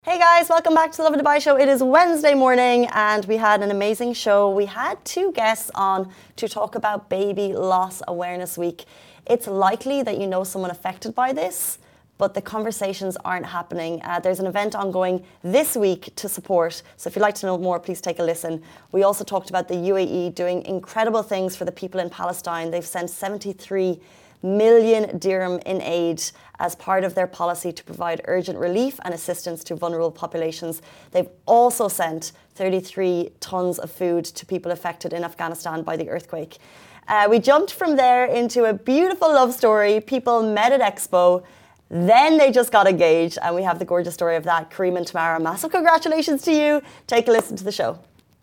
Hey guys, welcome back to the Lovin Dubai show. It is Wednesday morning and we had an amazing show. We had two guests on to talk about Baby Loss Awareness Week. It's likely that you know someone affected by this, but the conversations aren't happening. There's an event ongoing this week to support. So if you'd like to know more, please take a listen. We also talked about the UAE doing incredible things for the people in Palestine. They've sent 73 million dirham in aid as part of their policy to provide urgent relief and assistance to vulnerable populations. They've also sent 33 tons of food to people affected in Afghanistan by the earthquake. We jumped from there into a beautiful love story. People met at Expo, then they just got engaged, and we have the gorgeous story of that. Kareem and Tamara, massive congratulations to you. Take a listen to the show.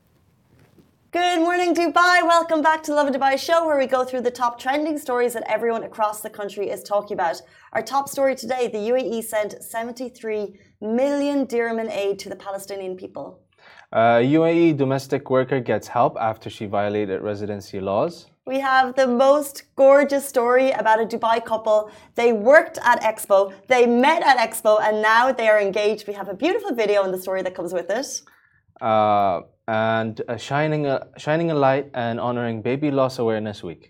Good morning, Dubai. Welcome back to the Lovin Dubai show, where we go through the top trending stories that everyone across the country is talking about. Our top story today, the UAE sent 73 million dirham in aid to the Palestinian people. UAE domestic worker gets help after she violated residency laws. We have the most gorgeous story about a Dubai couple. They worked at Expo, they met at Expo, and now they are engaged. We have a beautiful video and the story that comes with it. And shining a light and honoring Baby Loss Awareness Week.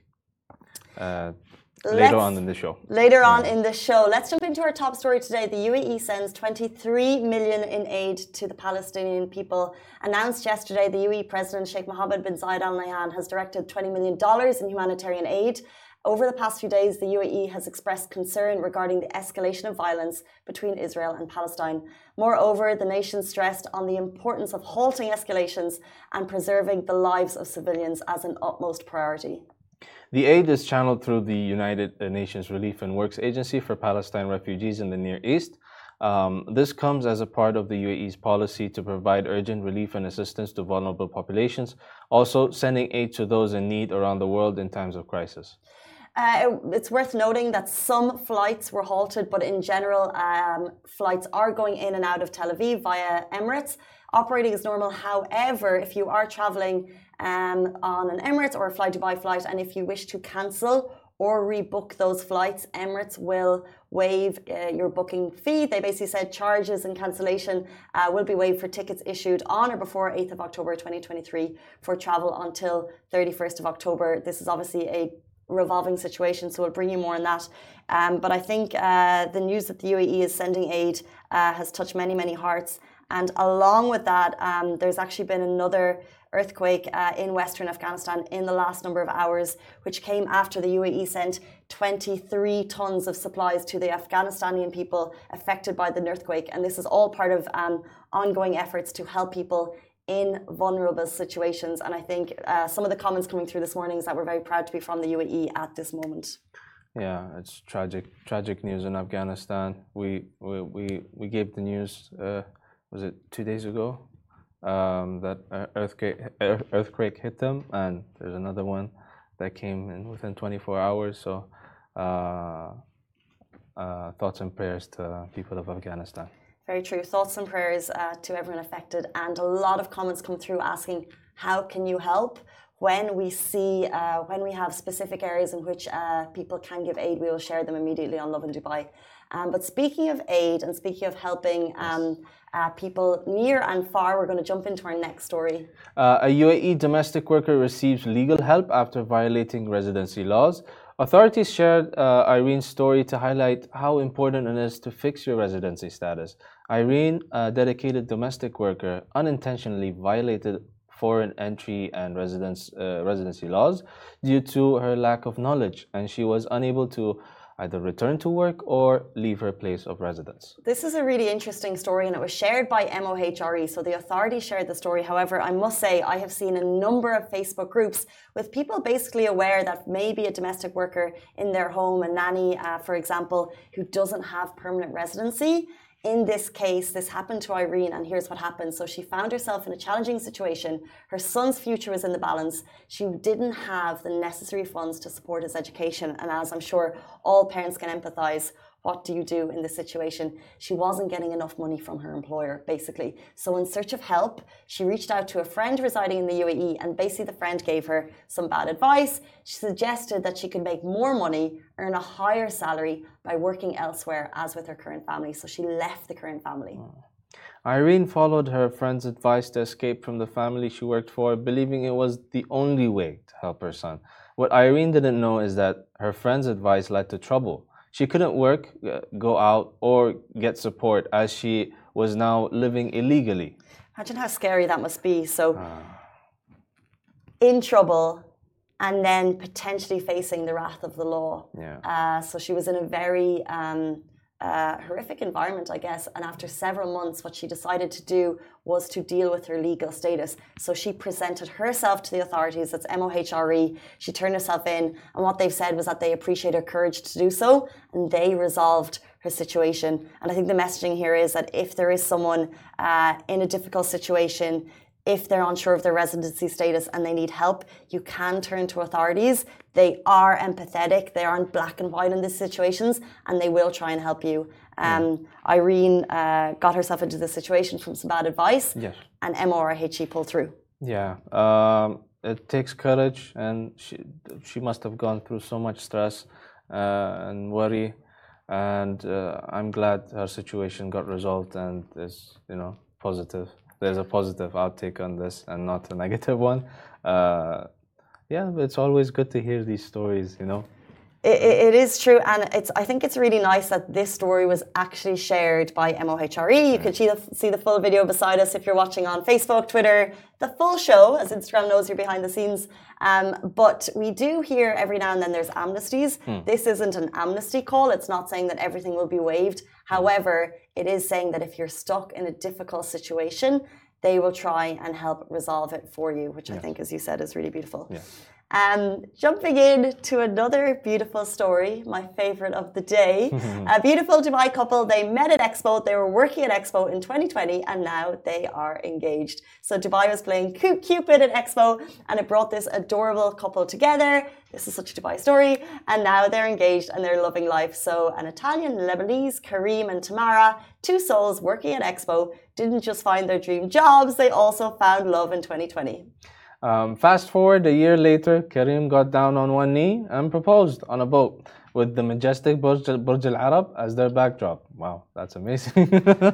Later on in the show. Later on in the show. Let's jump into our top story today. The UAE sends 23 million in aid to the Palestinian people. Announced yesterday, the UAE President Sheikh Mohammed bin Zayed Al Nahyan has directed $20 million in humanitarian aid. Over the past few days, the UAE has expressed concern regarding the escalation of violence between Israel and Palestine. Moreover, the nation stressed on the importance of halting escalations and preserving the lives of civilians as an utmost priority. The aid is channeled through the United Nations Relief and Works Agency for Palestine refugees in the Near East. This comes as a part of the UAE's policy to provide urgent relief and assistance to vulnerable populations, also sending aid to those in need around the world in times of crisis. It's worth noting that some flights were halted, but in general, flights are going in and out of Tel Aviv via Emirates, operating as normal. However, if you are traveling on an Emirates or a Fly Dubai flight, and if you wish to cancel or rebook those flights, Emirates will waive your booking fee. They basically said charges and cancellation will be waived for tickets issued on or before 8th of October 2023 for travel until 31st of October. This is obviously a revolving situation, so we'll bring you more on that. But I think the news that the UAE is sending aid has touched many, many hearts. And along with that, there's actually been another earthquake in Western Afghanistan in the last number of hours, which came after the UAE sent 23 tons of supplies to the Afghanistani people affected by the earthquake. And this is all part of ongoing efforts to help people in vulnerable situations. And I think some of the comments coming through this morning is that we're very proud to be from the UAE at this moment. Yeah, it's tragic news in Afghanistan. We gave the news, was it 2 days ago, that earthquake hit them, and there's another one that came in within 24 hours. So thoughts and prayers to people of Afghanistan. Very true. Thoughts and prayers to everyone affected. And a lot of comments come through asking, how can you help? When we see, when we have specific areas in which people can give aid, we will share them immediately on Lovin Dubai. But speaking of aid and speaking of helping people near and far, we're going to jump into our next story. A UAE domestic worker receives legal help after violating residency laws. Authorities shared Irene's story to highlight how important it is to fix your residency status. Irene, a dedicated domestic worker, unintentionally violated foreign entry and residency laws due to her lack of knowledge, and she was unable to either return to work or leave her place of residence. This is a really interesting story, and it was shared by MOHRE, so the authorities shared the story. However, I must say I have seen a number of Facebook groups with people basically aware that maybe a domestic worker in their home, a nanny, for example, who doesn't have permanent residency. In this case, this happened to Irene, and here's what happened. So she found herself in a challenging situation. Her son's future was in the balance. She didn't have the necessary funds to support his education. And as I'm sure all parents can empathize, what do you do in this situation? She wasn't getting enough money from her employer, basically. So in search of help, she reached out to a friend residing in the UAE, and basically the friend gave her some bad advice. She suggested that she could make more money, earn a higher salary by working elsewhere, as with her current family. So she left the current family. Irene followed her friend's advice to escape from the family she worked for, believing it was the only way to help her son. What Irene didn't know is that her friend's advice led to trouble. She couldn't work, go out, or get support as she was now living illegally. Imagine how scary that must be. So, in trouble, and then potentially facing the wrath of the law. Yeah. So she was in a very horrific environment, I guess. And after several months, what she decided to do was to deal with her legal status. So she presented herself to the authorities. That's MOHRE. She turned herself in. And what they've said was that they appreciate her courage to do so. And they resolved her situation. And I think the messaging here is that if there is someone in a difficult situation, if they're unsure of their residency status and they need help, you can turn to authorities. They are empathetic. They aren't black and white in these situations, and they will try and help you. Irene got herself into this situation from some bad advice, Yes. and MORHE pulled through. Yeah. It takes courage, and she must have gone through so much stress and worry. And I'm glad her situation got resolved and is, positive. There's a positive outtake on this and not a negative one. Yeah, it's always good to hear these stories, It is true, and I think it's really nice that this story was actually shared by MOHRE. You can see the full video beside us if you're watching on Facebook, Twitter, the full show, as Instagram knows you're behind the scenes. But we do hear every now and then there's amnesties. This isn't an amnesty call. It's not saying that everything will be waived. However, it is saying that if you're stuck in a difficult situation, they will try and help resolve it for you, which I think, as you said, is really beautiful. Yeah. Jumping in to another beautiful story, my favorite of the day. A beautiful Dubai couple, they met at Expo. They were working at Expo in 2020 and now they are engaged. So Dubai was playing Cupid at Expo and it brought this adorable couple together. This is such a Dubai story. And now they're engaged and they're loving life. So an Italian Lebanese, Karim and Tamara, two souls working at Expo, didn't just find their dream jobs, they also found love in 2020. Fast forward a year later, Karim got down on one knee and proposed on a boat with the majestic Burj Al Arab as their backdrop. Wow, that's amazing.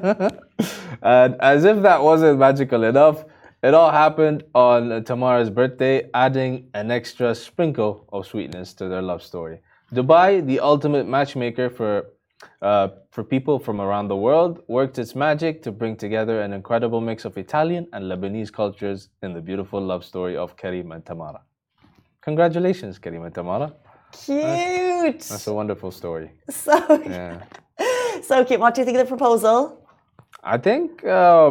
And as if that wasn't magical enough, it all happened on Tamara's birthday, adding an extra sprinkle of sweetness to their love story. Dubai, the ultimate matchmaker for people from around the world, worked its magic to bring together an incredible mix of Italian and Lebanese cultures in the beautiful love story of Karim and Tamara. Congratulations, Karim and Tamara. Cute! That's a wonderful story. So, so cute. What do you think of the proposal? I think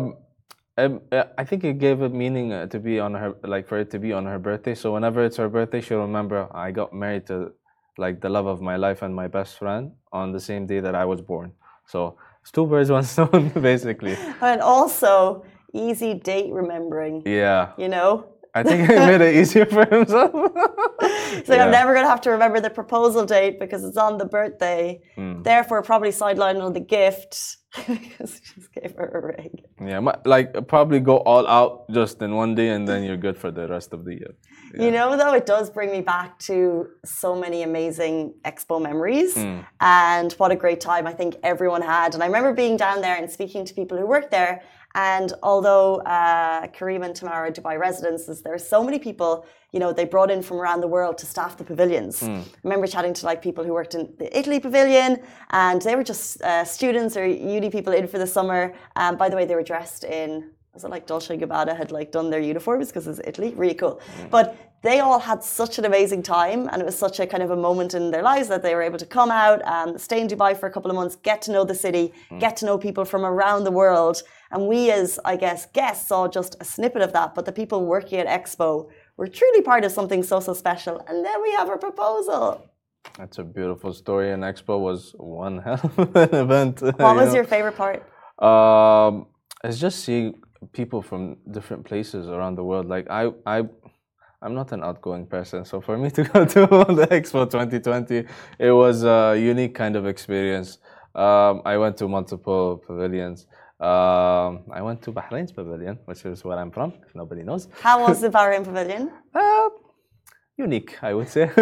it gave it meaning to be on her, like for it to be on her birthday. So whenever it's her birthday, she'll remember I got married to the love of my life and my best friend on the same day that I was born. So it's two birds, one stone, basically. And also easy date remembering. Yeah. I think he made it easier for himself. He's like, I'm never going to have to remember the proposal date because it's on the birthday. Therefore, probably sidelined on the gift because he just gave her a ring. Yeah, probably go all out just in one day and then you're good for the rest of the year. Yeah. Though, it does bring me back to so many amazing Expo memories and what a great time I think everyone had. And I remember being down there and speaking to people who worked there. And although Karim and Tamara are Dubai residences, there are so many people, they brought in from around the world to staff the pavilions. I remember chatting to people who worked in the Italy pavilion and they were just students or uni people in for the summer. By the way, they were dressed in, was it Dolce & Gabbana had done their uniforms because it's Italy? Really cool. But they all had such an amazing time and it was such a kind of a moment in their lives that they were able to come out and stay in Dubai for a couple of months, get to know the city, get to know people from around the world. And we as, I guess, guests saw just a snippet of that, but the people working at Expo were truly part of something so special. And then we have a proposal. That's a beautiful story and Expo was one hell of an event. What was your favorite part? It's just seeing people from different places around the world. I'm not an outgoing person, so for me to go to the Expo 2020, it was a unique kind of experience. I went to multiple pavilions. I went to Bahrain's pavilion, which is where I'm from, if nobody knows. How was the Bahrain pavilion? Unique, I would say.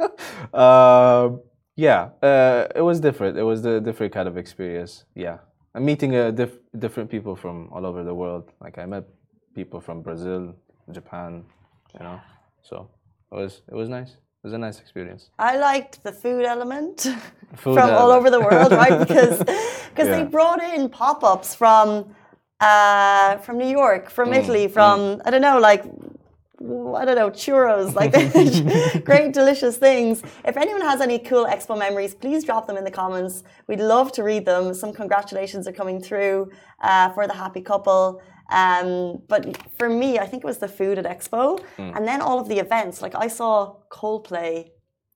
It was different. It was a different kind of experience. Yeah. I'm meeting different people from all over the world. Like I met people from Brazil, Japan, so it was nice. It was a nice experience. I liked the food element from all over the world, right? Because they brought in pop-ups from New York, from Italy, from I don't know, churros, like great delicious things. If anyone has any cool expo memories, please drop them in the comments. We'd love to read them. Some congratulations are coming through for the happy couple. But for me, I think it was the food at Expo, and then all of the events. Like I saw Coldplay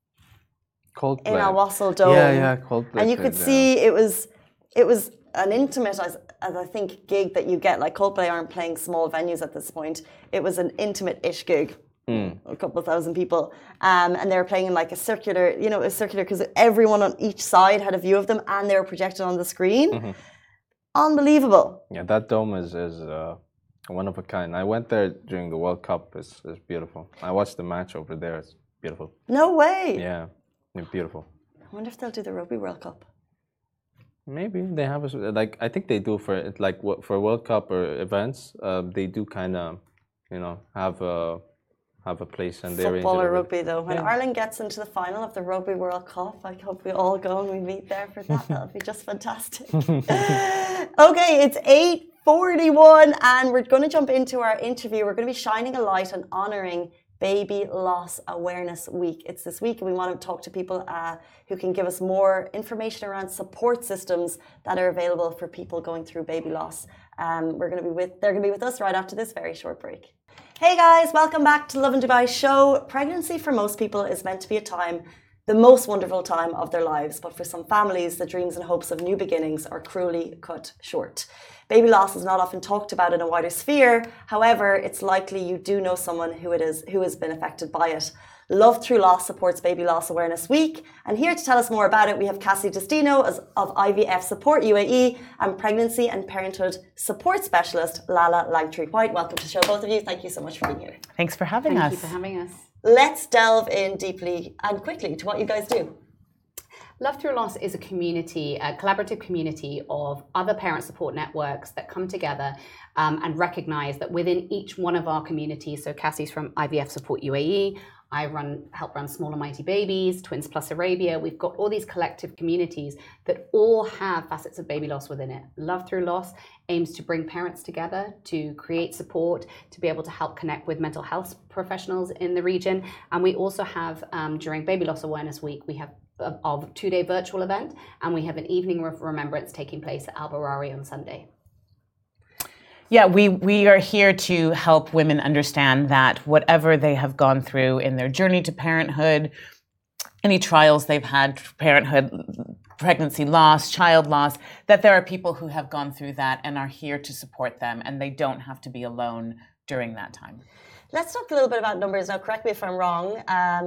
in Al Wasl Dome. Yeah, Coldplay. And you could see it was an intimate, as I think, gig that you get. Like Coldplay aren't playing small venues at this point. It was an intimate-ish gig. A couple of thousand people, and they were playing in like a circular because everyone on each side had a view of them, and they were projected on the screen. Unbelievable. Yeah, that dome is one of a kind. I went there during the World Cup. It's beautiful. I watched the match over there. It's beautiful. No way. Yeah, beautiful. I wonder if they'll do the Rugby World Cup. Maybe they have I think they do for World Cup or events. They do kind of, have a place and they arrange football or rugby though. When Ireland gets into the final of the Rugby World Cup, I hope we all go and we meet there for that. That'll be just fantastic. Okay, it's 8:41 and we're going to jump into our interview. We're going to be shining a light on honouring Baby Loss Awareness Week. It's this week and we want to talk to people who can give us more information around support systems that are available for people going through baby loss. They're going to be with us right after this very short break. Hey guys, welcome back to Lovin Dubai show. Pregnancy for most people is meant to be the most wonderful time of their lives, but for some families, the dreams and hopes of new beginnings are cruelly cut short. Baby loss is not often talked about in a wider sphere. However, it's likely you do know someone who has been affected by it. Love Through Loss supports Baby Loss Awareness Week. And here to tell us more about it, we have Cassie Destino of IVF Support UAE and Pregnancy and Parenthood Support Specialist Lala Langtree-White. Welcome to the show, both of you. Thank you so much for being here. Thanks for having us. Thank you for having us. Let's delve in deeply and quickly to what you guys do. Love Through Loss is a community, a collaborative community of other parent support networks that come together and recognize that within each one of our communities, so Cassie's from IVF Support UAE, I help run Small and Mighty Babies, Twins Plus Arabia. We've got all these collective communities that all have facets of baby loss within it. Love Through Loss aims to bring parents together, to create support, to be able to help connect with mental health professionals in the region. And we also have, during Baby Loss Awareness Week, we have a 2-day virtual event, and we have an evening of remembrance taking place at Al Barari on Sunday. Yeah, we are here to help women understand that whatever they have gone through in their journey to parenthood, any trials they've had, parenthood, pregnancy loss, child loss, that there are people who have gone through that and are here to support them, and they don't have to be alone during that time. Let's talk a little bit about numbers now. Correct me if I'm wrong.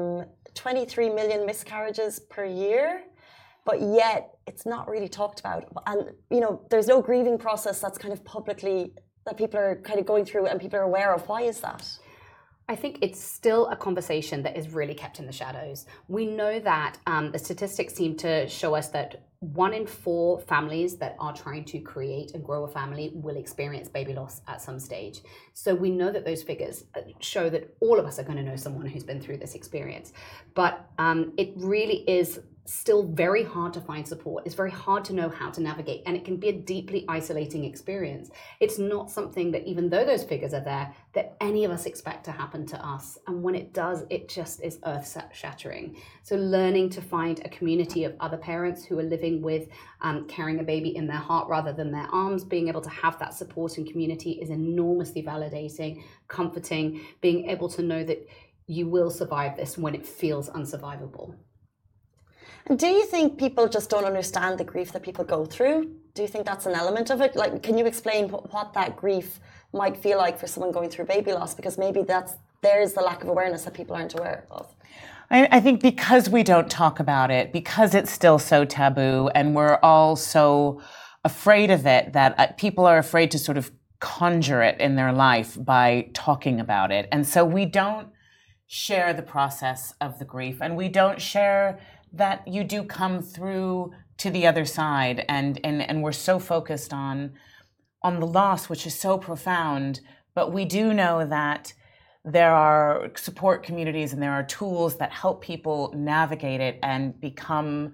23 million miscarriages per year, but yet it's not really talked about. And, there's no grieving process that's kind of publicly, that people are kind of going through and people are aware of. Why is that? I think it's still a conversation that is really kept in the shadows. We know that the statistics seem to show us that 1 in 4 families that are trying to create and grow a family will experience baby loss at some stage. So we know that those figures show that all of us are going to know someone who's been through this experience. But it really is still very hard to find support. It's very hard to know how to navigate, and it can be a deeply isolating experience. It's not something that, even though those figures are there, that any of us expect to happen to us. And when it does, it just is earth-shattering. So learning to find a community of other parents who are living with carrying a baby in their heart rather than their arms, being able to have that support and community is enormously validating, comforting, being able to know that you will survive this when it feels unsurvivable. And do you think people just don't understand the grief that people go through? Do you think that's an element of it? Like, can you explain what that grief might feel like for someone going through baby loss? Because maybe there's the lack of awareness that people aren't aware of. I think because we don't talk about it, because it's still so taboo, and we're all so afraid of it, that people are afraid to sort of conjure it in their life by talking about it. And so we don't share the process of the grief, and we don't share that you do come through to the other side, and we're so focused on the loss, which is so profound. But we do know that there are support communities and there are tools that help people navigate it and become,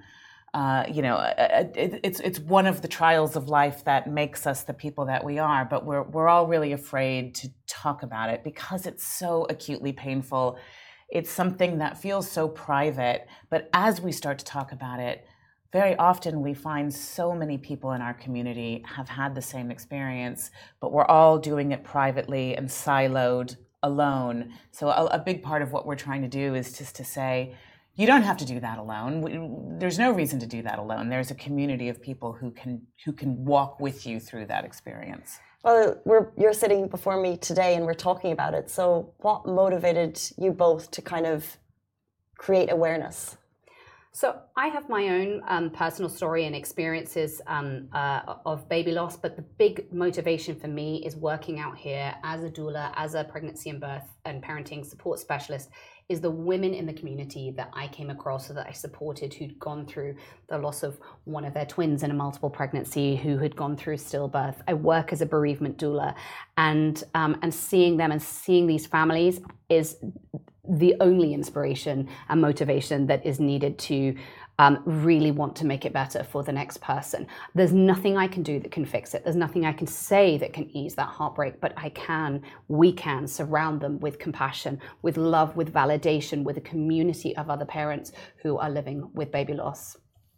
it's one of the trials of life that makes us the people that we are. But we're all really afraid to talk about it because it's so acutely painful. It's something that feels so private. But as we start to talk about it, very often we find so many people in our community have had the same experience, but we're all doing it privately and siloed, alone. So a big part of what we're trying to do is just to say, you don't have to do that alone. There's no reason to do that alone. There's a community of people who can walk with you through that experience. Well, you're sitting before me today and we're talking about it. So what motivated you both to kind of create awareness? So I have my own personal story and experiences of baby loss, but the big motivation for me is working out here as a doula, as a pregnancy and birth and parenting support specialist, is the women in the community that I came across, or that I supported, who'd gone through the loss of one of their twins in a multiple pregnancy, who had gone through stillbirth. I work as a bereavement doula, and seeing them and seeing these families is the only inspiration and motivation that is needed to really want to make it better for the next person. There's nothing I can do that can fix it. There's nothing I can say that can ease that heartbreak, but we can surround them with compassion, with love, with validation, with a community of other parents who are living with baby loss.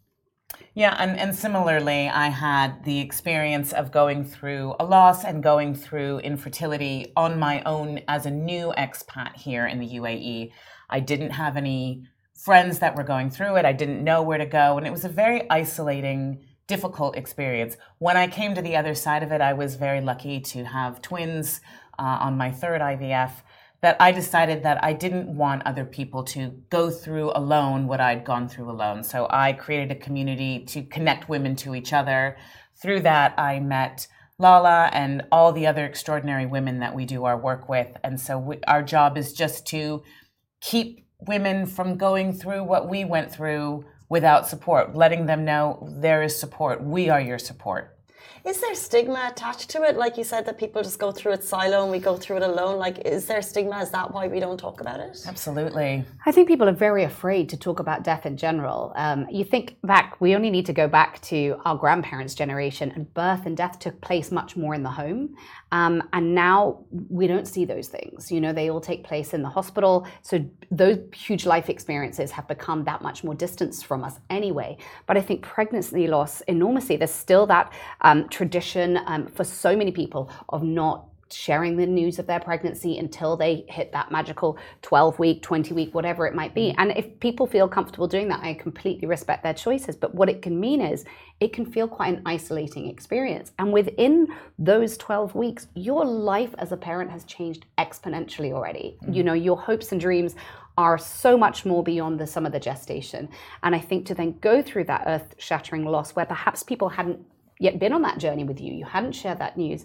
Yeah, and similarly, I had the experience of going through a loss and going through infertility on my own as a new expat here in the UAE. I didn't have any friends that were going through it. I didn't know where to go, and it was a very isolating, difficult experience. When I came to the other side of it, I was very lucky to have twins on my third IVF, that I decided that I didn't want other people to go through alone what I'd gone through alone. So I created a community to connect women to each other. Through that, I met Lala and all the other extraordinary women that we do our work with. And so our job is just to keep women from going through what we went through without support, letting them know there is support. We are your support. Is there stigma attached to it? Like you said, that people just go through it silo and we go through it alone. Like, is there stigma? Is that why we don't talk about it? Absolutely. I think people are very afraid to talk about death in general. You think back, we only need to go back to our grandparents' generation, and birth and death took place much more in the home. And now we don't see those things. You know, they all take place in the hospital. So those huge life experiences have become that much more distanced from us anyway. But I think pregnancy loss enormously, there's still that tradition for so many people of not sharing the news of their pregnancy until they hit that magical 12-week, 20-week, whatever it might be. And if people feel comfortable doing that, I completely respect their choices. But what it can mean is it can feel quite an isolating experience. And within those 12 weeks, your life as a parent has changed exponentially already. You know, your hopes and dreams are so much more beyond the sum of the gestation. And I think to then go through that earth-shattering loss where perhaps people hadn't yet been on that journey with you, you hadn't shared that news,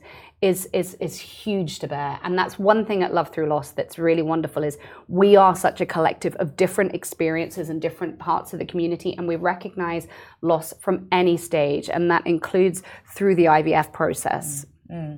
is huge to bear. And that's one thing at Love Through Loss that's really wonderful, is we are such a collective of different experiences in different parts of the community, and we recognize loss from any stage, and that includes through the IVF process.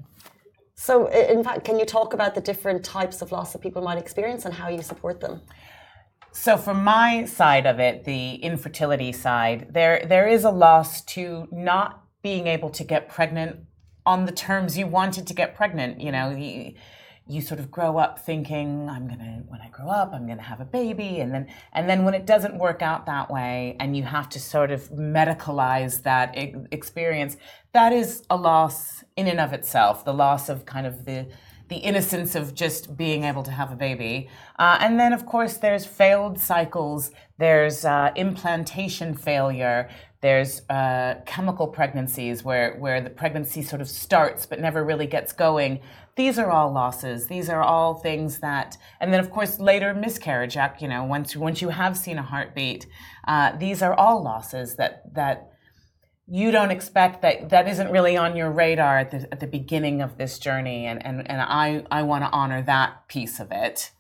So in fact, can you talk about the different types of loss that people might experience and how you support them? So from my side of it, the infertility side, there is a loss to not being able to get pregnant on the terms you wanted to get pregnant. You know, you sort of grow up thinking, when I grow up, I'm gonna have a baby, and then when it doesn't work out that way, and you have to sort of medicalize that experience, that is a loss in and of itself. The loss of kind of the innocence of just being able to have a baby. And then, of course, there's failed cycles, there's implantation failure, there's chemical pregnancies where the pregnancy sort of starts but never really gets going. These are all losses. These are all things that, and then, of course, later miscarriage, you know, once you have seen a heartbeat, these are all losses that you don't expect, that isn't really on your radar at the beginning of this journey, and I want to honor that piece of it.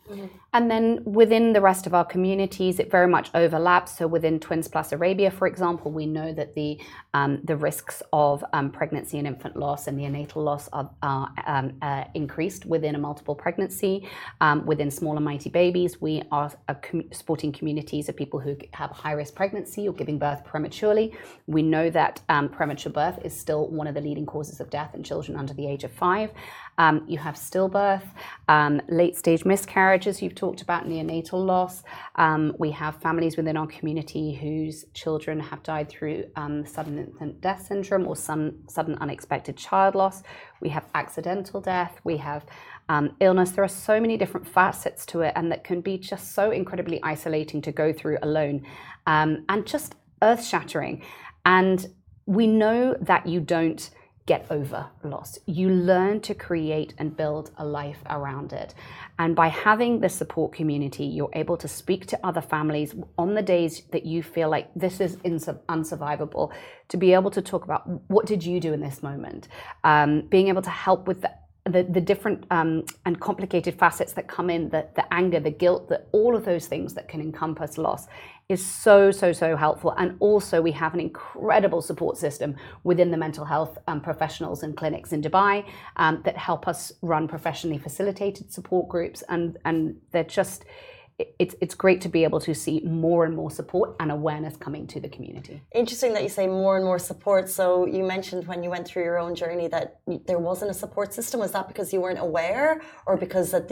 And then within the rest of our communities, it very much overlaps. So within Twins Plus Arabia, for example, we know that the risks of pregnancy and infant loss and neonatal loss are increased within a multiple pregnancy. Within Small and Mighty Babies, we are supporting communities of people who have high-risk pregnancy or giving birth prematurely. We know that premature birth is still one of the leading causes of death in children under the age of 5. You have stillbirth, late-stage miscarriages, you've talked about neonatal loss. We have families within our community whose children have died through sudden infant death syndrome or some sudden unexpected child loss. We have accidental death. We have illness. There are so many different facets to it, and that can be just so incredibly isolating to go through alone, and just earth-shattering. And we know that you don't get over loss. You learn to create and build a life around it. And by having the support community, you're able to speak to other families on the days that you feel like this is unsurvivable, to be able to talk about what did you do in this moment, being able to help with the different and complicated facets that come in, the anger, the guilt, all of those things that can encompass loss is so helpful. And also we have an incredible support system within the mental health professionals and clinics in Dubai that help us run professionally facilitated support groups, and they're just, it's great to be able to see more and more support and awareness coming to the community. Interesting that you say more and more support. So you mentioned when you went through your own journey that there wasn't a support system. Was that because you weren't aware, or because that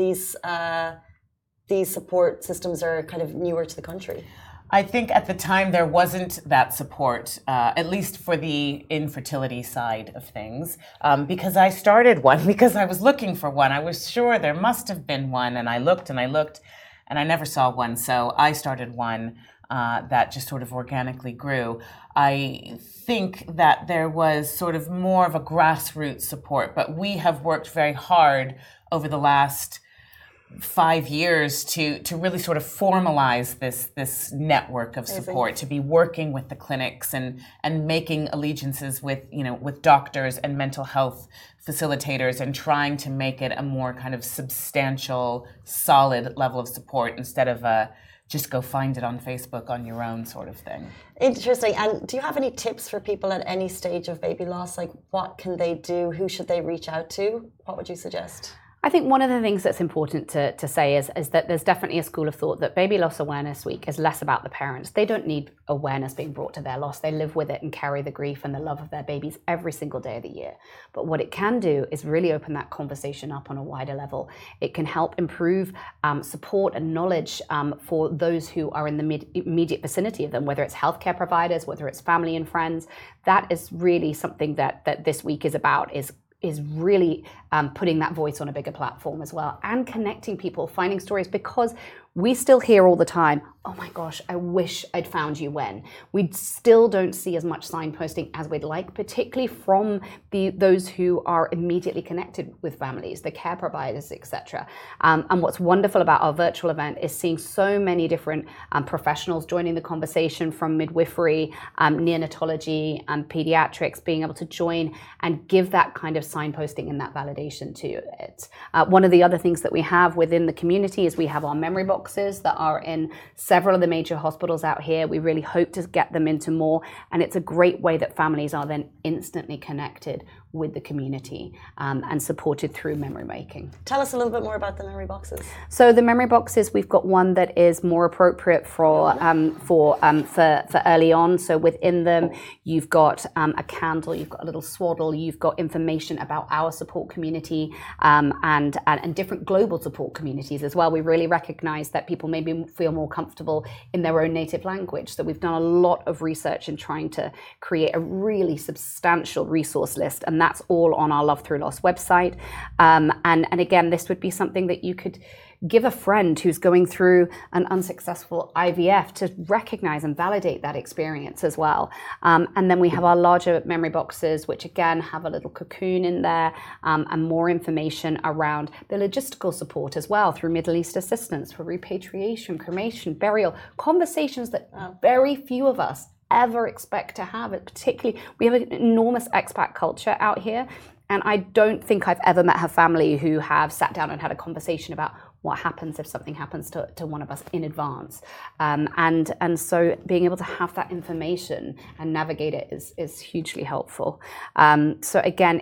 these support systems are kind of newer to the country? I think at the time there wasn't that support, at least for the infertility side of things, because I started one, because I was looking for one. I was sure there must have been one, and I looked, and I never saw one. So I started one that just sort of organically grew. I think that there was sort of more of a grassroots support, but we have worked very hard over the last 5 years to really sort of formalize this network of support, to be working with the clinics and making allegiances with doctors and mental health facilitators, and trying to make it a more kind of substantial, solid level of support instead of just go find it on Facebook on your own sort of thing. Interesting. And do you have any tips for people at any stage of baby loss? Like, what can they do? Who should they reach out to? What would you suggest? I think one of the things that's important to say is that there's definitely a school of thought that Baby Loss Awareness Week is less about the parents. They don't need awareness being brought to their loss. They live with it and carry the grief and the love of their babies every single day of the year. But what it can do is really open that conversation up on a wider level. It can help improve support and knowledge for those who are in the immediate vicinity of them, whether it's healthcare providers, whether it's family and friends. That is really something that this week is about, is really putting that voice on a bigger platform as well, and connecting people, finding stories, because we still hear all the time, oh my gosh, I wish I'd found you when. We still don't see as much signposting as we'd like, particularly from those who are immediately connected with families, the care providers, etc. And what's wonderful about our virtual event is seeing so many different professionals joining the conversation, from midwifery, neonatology, and pediatrics, being able to join and give that kind of signposting and that validation to it. One of the other things that we have within the community is we have our memory boxes that are in several of the major hospitals out here. We really hope to get them into more, and it's a great way that families are then instantly connected with the community and supported through memory making. Tell us a little bit more about the memory boxes. So the memory boxes, we've got one that is more appropriate for early on. So within them, you've got a candle, you've got a little swaddle, you've got information about our support community and different global support communities as well. We really recognize that people maybe feel more comfortable in their own native language. So we've done a lot of research in trying to create a really substantial resource list, and that's all on our Love Through Loss website. And again, this would be something that you could give a friend who's going through an unsuccessful IVF to recognize and validate that experience as well. And then we have our larger memory boxes, which again have a little cocoon in there and more information around the logistical support as well, through Middle East assistance for repatriation, cremation, burial, conversations that very few of us ever expect to have. Particularly, we have an enormous expat culture out here, and I don't think I've ever met a family who have sat down and had a conversation about what happens if something happens to one of us in advance. And so being able to have that information and navigate it is hugely helpful. So again,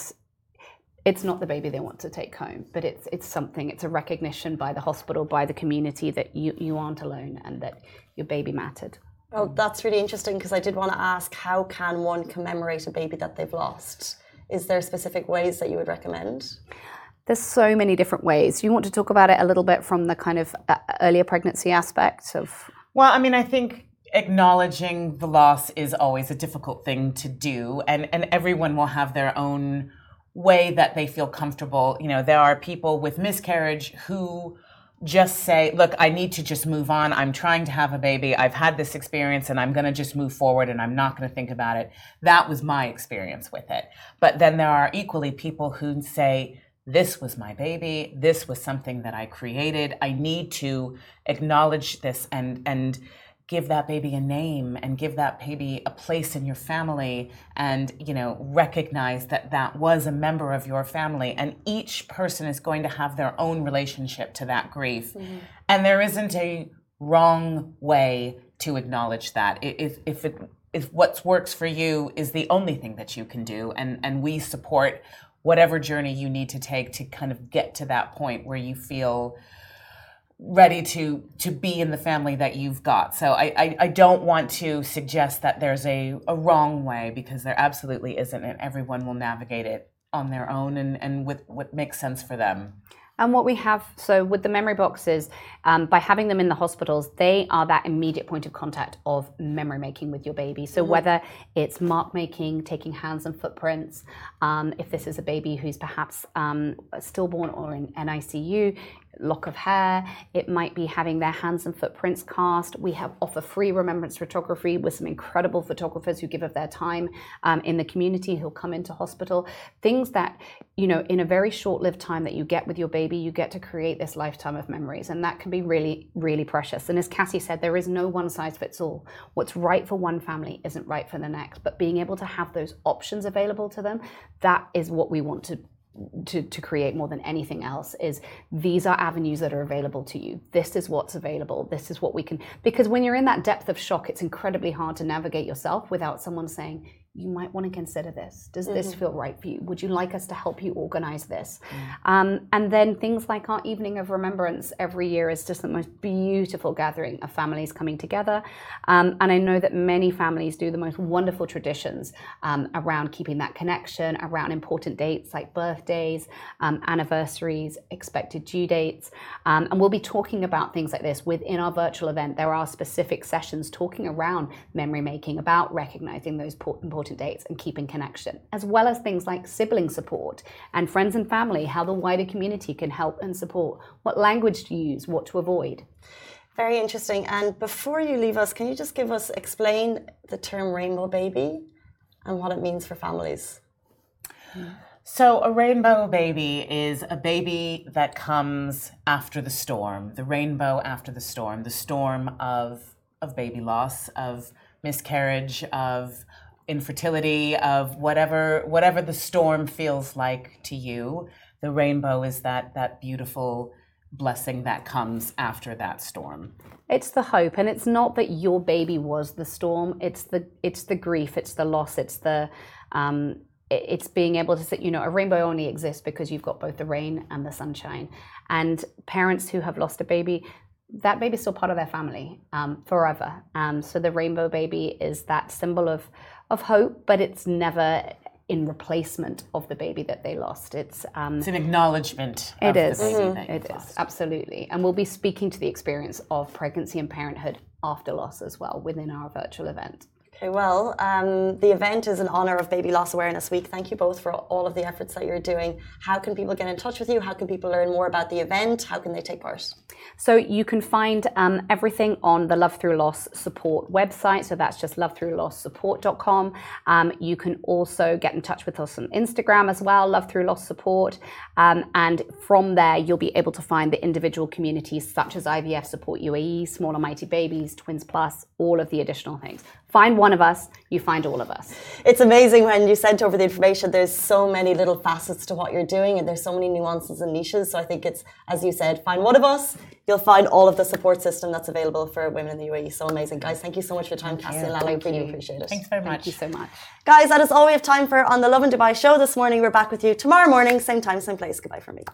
it's not the baby they want to take home, but it's a recognition by the hospital, by the community that you aren't alone and that your baby mattered. Well, that's really interesting, because I did want to ask, how can one commemorate a baby that they've lost? Is there specific ways that you would recommend? There's so many different ways. You want to talk about it a little bit from the kind of earlier pregnancy aspect of? Well, I mean, I think acknowledging the loss is always a difficult thing to do, and everyone will have their own way that they feel comfortable. You know, there are people with miscarriage who just say, look, I need to just move on. I'm trying to have a baby. I've had this experience and I'm going to just move forward and I'm not going to think about it. That was my experience with it. But then there are equally people who say, this was my baby. This was something that I created. I need to acknowledge this and give that baby a name and give that baby a place in your family, and, you know, recognize that that was a member of your family, and each person is going to have their own relationship to that grief. Mm-hmm. And there isn't a wrong way to acknowledge that. If what works for you is the only thing that you can do, and we support whatever journey you need to take to kind of get to that point where you feel ready to be in the family that you've got. So I don't want to suggest that there's a wrong way, because there absolutely isn't, and everyone will navigate it on their own and with what makes sense for them. And what we have, so with the memory boxes, by having them in the hospitals, they are that immediate point of contact of memory making with your baby. So whether it's mark making, taking hands and footprints, if this is a baby who's perhaps stillborn or in NICU, lock of hair, it might be having their hands and footprints cast. We offer free remembrance photography with some incredible photographers who give of their time in the community, who'll come into hospital. Things that, you know, in a very short-lived time that you get with your baby, you get to create this lifetime of memories, and that can be really, really precious. And as Cassie said, there is no one size fits all. What's right for one family isn't right for the next, but being able to have those options available to them, that is what we want to create more than anything else. Is these are avenues that are available to you. This is what's available. This is what we can, because when you're in that depth of shock, it's incredibly hard to navigate yourself without someone saying, you might want to consider this. Does this feel right for you? Would you like us to help you organize this? And then things like our Evening of Remembrance every year is just the most beautiful gathering of families coming together. And I know that many families do the most wonderful traditions around keeping that connection, around important dates like birthdays, anniversaries, expected due dates. And we'll be talking about things like this within our virtual event. There are specific sessions talking around memory making, about recognizing those important dates and keeping connection, as well as things like sibling support and friends and family, how the wider community can help and support, what language to use, what to avoid. Very interesting. And before you leave us, can you just explain the term rainbow baby and what it means for families? So a rainbow baby is a baby that comes after the storm, the rainbow after the storm of baby loss, of miscarriage, of infertility, of whatever the storm feels like to you. The rainbow is that beautiful blessing that comes after that storm. It's the hope, and it's not that your baby was the storm. It's the grief, it's the loss, it's being able to say, you know, a rainbow only exists because you've got both the rain and the sunshine. And parents who have lost a baby, that baby's still part of their family forever. So the rainbow baby is that symbol of hope, but it's never in replacement of the baby that they lost. It's an acknowledgement of the baby that you've lost. Absolutely. And we'll be speaking to the experience of pregnancy and parenthood after loss as well within our virtual event. Okay, well, the event is in honor of Baby Loss Awareness Week. Thank you both for all of the efforts that you're doing. How can people get in touch with you? How can people learn more about the event? How can they take part? So you can find everything on the Love Through Loss Support website. So that's just lovethroughlosssupport.com. You can also get in touch with us on Instagram as well, Love Through Loss Support. And from there, you'll be able to find the individual communities such as IVF Support UAE, Smaller Mighty Babies, Twins Plus, all of the additional things. Find one one of us, you find all of us. It's amazing when you sent over the information, there's so many little facets to what you're doing and there's so many nuances and niches. So I think it's, as you said, find one of us, you'll find all of the support system that's available for women in the UAE. So amazing. Guys, thank you so much for your time, Cassie and Lally. We really appreciate it. Thanks very much. Thank you so much. Guys, that is all we have time for on the Lovin Dubai show this morning. We're back with you tomorrow morning, same time, same place. Goodbye from me.